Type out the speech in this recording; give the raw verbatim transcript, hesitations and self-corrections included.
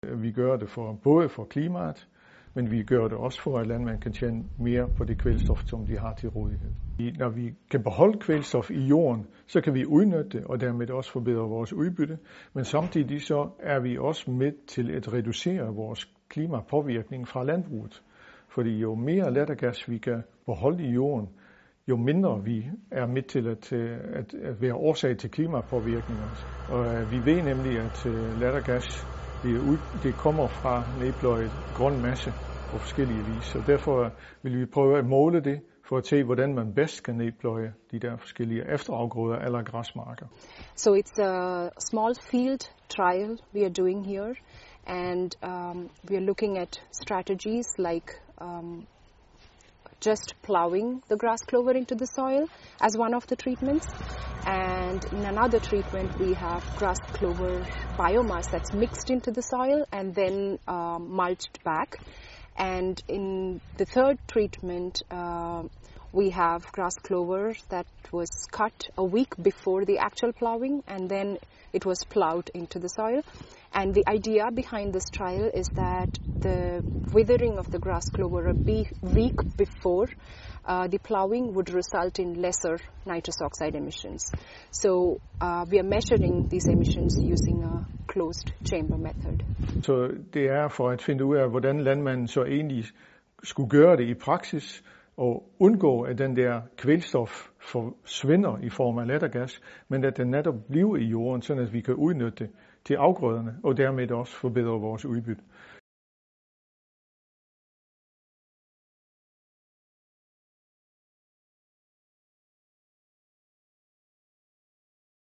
Vi gør det for, både for klimaet, men vi gør det også for, at landmænd kan tjene mere på det kvælstof, som de har til rådighed. Når vi kan beholde kvælstof i jorden, så kan vi udnytte det, og dermed også forbedre vores udbytte. Men samtidig så er vi også med til at reducere vores klimapåvirkning fra landbruget. Fordi jo mere lattergas vi kan beholde i jorden, jo mindre vi er med til at, at, at være årsag til klimapåvirkninger. Og vi ved nemlig, at lattergas det, ud, det kommer fra nedpløjet grøn masse på forskellige vis. Og derfor vil vi prøve at måle det for at se, hvordan man bedst kan nedpløje de der forskellige efterafgrøder eller græsmarker. So it's a small field trial we are doing here, and um, we are looking at strategies like um, just plowing the grass clover into the soil as one of the treatments. And in another treatment, we have grass clover biomass that's mixed into the soil and then um, mulched back. And in the third treatment, uh, we have grass clover that was cut a week before the actual plowing, and then it was plowed into the soil. And the idea behind this trial is that the withering of the grass clover a week before uh, the plowing would result in lesser nitrous oxide emissions. So uh, we are measuring these emissions using a closed chamber method. Så det er for at finde ud af, hvordan landmanden så egentlig skulle gøre det i praksis, og undgå, at den der kvælstof forsvinder i form af lattergas, men at den netop bliver i jorden, så at vi kan udnytte det til afgrøderne, og dermed også forbedre vores udbytte.